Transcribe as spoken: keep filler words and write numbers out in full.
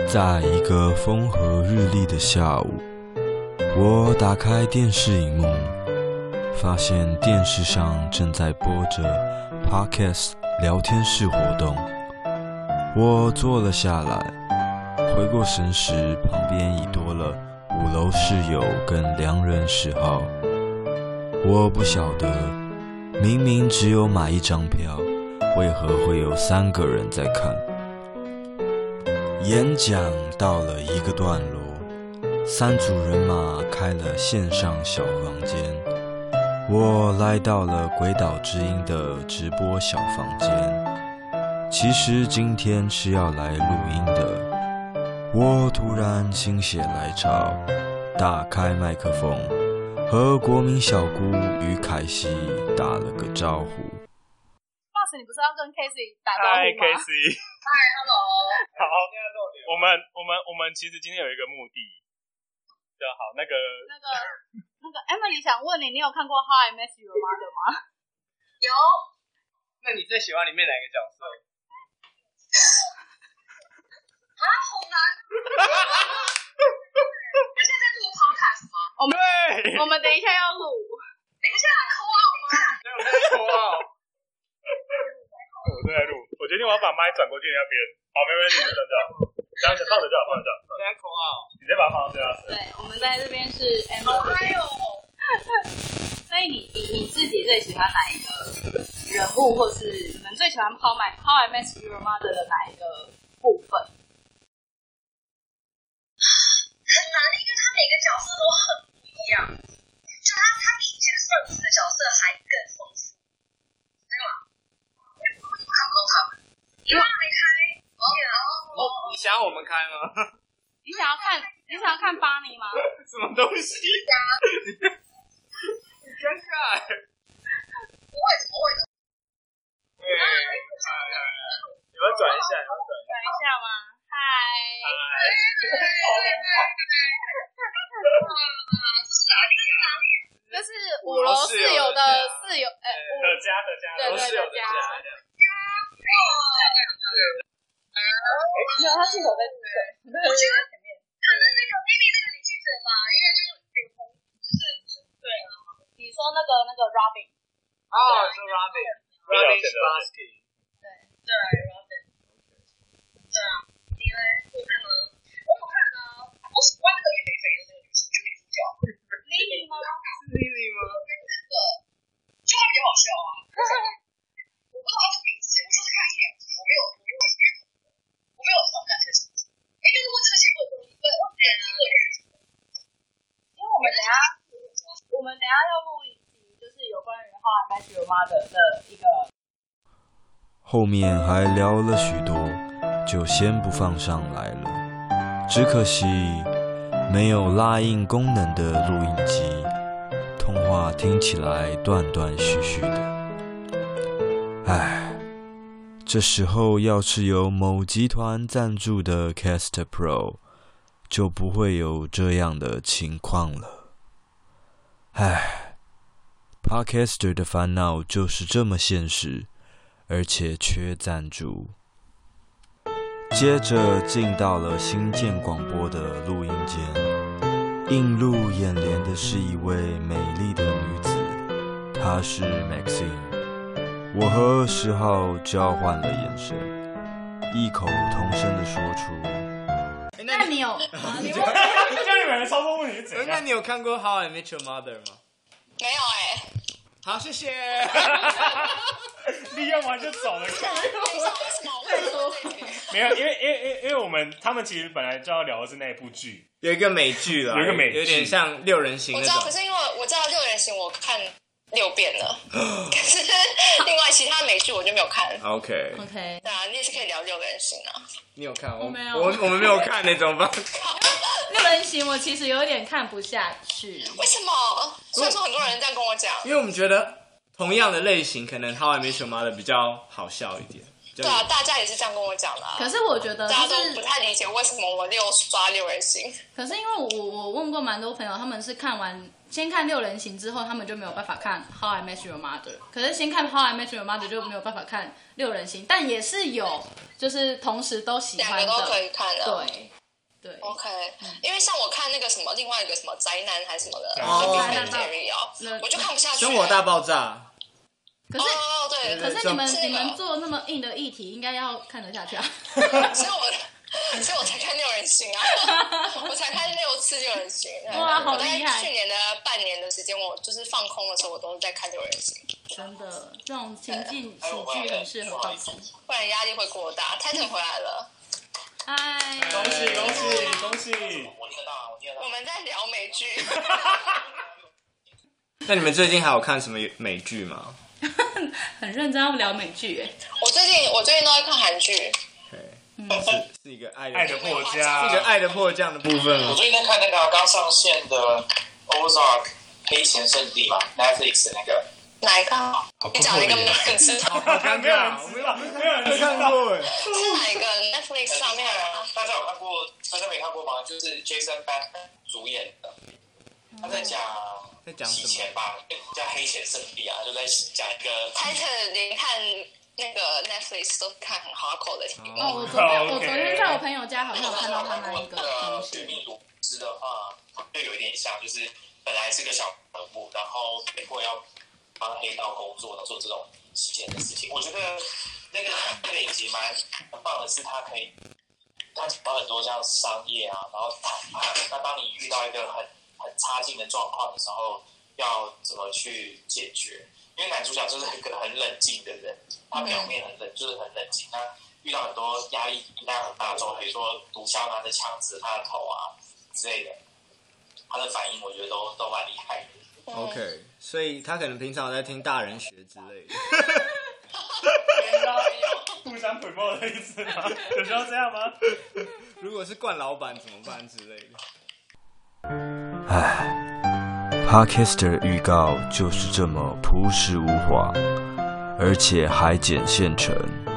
在一個風和日麗的下午，我打開電視螢幕，發現電視上正在播着 Podcast 聊天室活動。我坐了下來，回過神時，旁邊已多了五樓室友跟良人十號。我不曉得，明明只有買一張票，為何會有三個人在看？演講到了一個段落，三組人馬開了線上小房間，我來到了鬼島之音的直播小房間。其實今天是要來錄音的，我突然心血來潮，打開麥克風，和國民小姑與凱西打了個招呼。 Boss，你不是要跟 Casey 打招呼嗎？ Hi Casey。 嗨 ，Hello。 好，我們我們我們其實今天有一個目的，就好那個那個那個 Emily 想問你，你有看過《How I Met Your Mother》嗎？ 有。那你最喜歡裡面哪一個角色？啊，好難。你現在在錄 podcast 嗎？ 我們我們等一下要錄。 等一下 call out 嗎？ 对，我在 call out。我正在錄，我決定我要把麥轉過去那邊。好，沒問題，就這樣。這樣子放着就好，放着就好。現在 call out，你再把它放到這樣。 對，我們在這邊是 Emily。哎呦。所以你你你自己最喜歡哪一個人物，或是你們最喜歡 How I How I Met Your Mother 的哪一個部分？ 很難，因為他每個角色都很不一樣。就他他比以前上次的角色還更豐富，對嗎？我看不懂他們，因為還沒開。哦，你想要我們開嗎？ 你想要看你想要看巴尼嗎？ 什麼東西呀？很尷尬。 不會，不會。 哎，你們轉一下，你們轉轉一下嗎？嗨。這是五樓室友的室友，哎， 的家的家， 對对的家。没有，他镜头在这边，我觉得前面可能那個 maybe 那個女記者吧，因為就是臉紅，就是對啊。 你說那個那個 Robin， 哦，是 Robin，Robin Spassky， 對對 Robin， 對啊，你呢？你看嗎？我有看啊，我喜歡那個臉肥肥的那個女生，就女主角 Lily 嗎？是 Lily 嗎？那個就她比較好笑啊，我不知道她的名字，我就是看一眼，我沒有，我沒有，我沒有很感興趣。哎，就是問這個節目的東西，對，我覺得這個人， 因為我們等下，我們等下要錄一集，就是有關於 How I Met Your Mother 的一個。 後面還聊了許多，就先不放上來了。只可惜沒有拉印功能的錄音機，通話聽起來斷斷續續的。唉，這時候要是有某集團贊助的 Cast Pro， 就不會有這樣的情況了。唉 ，Podcaster 的煩惱就是這麼現實，而且缺贊助。接着進到了新建廣播的錄音間，映入眼簾的是一位美麗的女子，她是 Maxine。我和十號交換了眼神，異口同聲地說出：“ 那你有？你問， 這樣你們的操作問題是怎樣？ 那你有看過 How I Met Your Mother 嗎？ 沒有哎、欸。 好，謝謝。 利用完就走了。 為什麼我會說這個？ 沒有，因為因為因為我們他們其實本來就要聊的是那一部劇， 有一個美劇了， 有一個美劇， 有點像六人行那種。 我知道，可是因為我知道六人行我看六遍了，可是另外其他美劇我就沒有看。 OK OK， 對啊，你也是可以聊六人行啊。 你有看？ 我沒有， 我我們沒有看那種吧。 六人行我其實有點看不下去。 為什麼？雖然說很多人這樣跟我講， 因為我們覺得同樣的類型，可能 How I Met Your Mother 比較好笑一點。 對啊，大家也是這樣跟我講的、啊。 可是我覺得、就是、 大家都不太理解為什麼我六刷六人行。 可是因為我我問過蠻多朋友，他們是看完先看六人行之後，他們就沒有辦法看 How I Met Your Mother。可是先看 How I Met Your Mother 就沒有辦法看六人行，但也是有就是同時都喜歡的， 兩個都可以看的。 對， 對 ，OK，、嗯、因為像我看那個什麼，另外一個什麼宅男還是什麼的， 哦， 我就看不下去。 生活大爆炸。 可是， 哦，對， 可是你們你們做那麼硬的議題，應該要看得下去啊。 所以我，所以我才看六人行啊，我才看六次六人行。 哇，好厲害！ 去年的半年的時間，我就是放空的時候，我都是在看六人行。 真的，這種情境喜劇很適合放鬆， 不然壓力會過大。Titan 回來了， 嗨！ 恭喜恭喜恭喜！ 我聽得到，我聽得到。我們在聊美劇。 那你們最近還有看什麼美劇嗎？ 很認真要聊美劇哎。 我最近我最近都在看韓劇。 嗯，是是一個愛的愛的迫降， 是一個愛的迫降的部分。 我最近在看那個剛上線的《Ozark 黑錢聖地》嘛 ，Netflix 的那個。哪一個？你講一個沒有人知道。 好尷尬，我沒有沒有人看過哎。 是哪一個 ？Netflix 上面啊？ 大家有看過？大家沒看過嗎？就是 Jason Bateman 主演的，他在講在講洗錢吧，叫黑錢聖地啊，就在講一個。 Titan 連看那個 Netflix 都看很 hardcore 的題目。 哦，我昨天我昨天在我朋友家好像有看到他那一個東西。 对命毒師的話，就有一點像，就是本來是個小人物，然後被迫要幫黑道工作，然後做這種洗錢的事情。我覺得那個那個影集蠻很棒的是，它可以它講到很多像商業啊，然後談判。那當你遇到一個很很差勁的狀況的時候，要怎麼去解決？因為男主角就是一個很冷靜的人，他表面很冷，就是很冷靜。他遇到很多壓力壓力很大的時候，比如說毒梟拿着槍指他的頭啊之類的，他的反應我覺得都都蠻厲害的。 OK， 所以他可能平常有在聽大人學之類的。 互相诽谤的意思嗎？有需要這樣嗎？ 如果是慣老闆怎麼辦之類的？ 唉。Podcaster 的預告就是這麼樸實無華，而且還剪現成。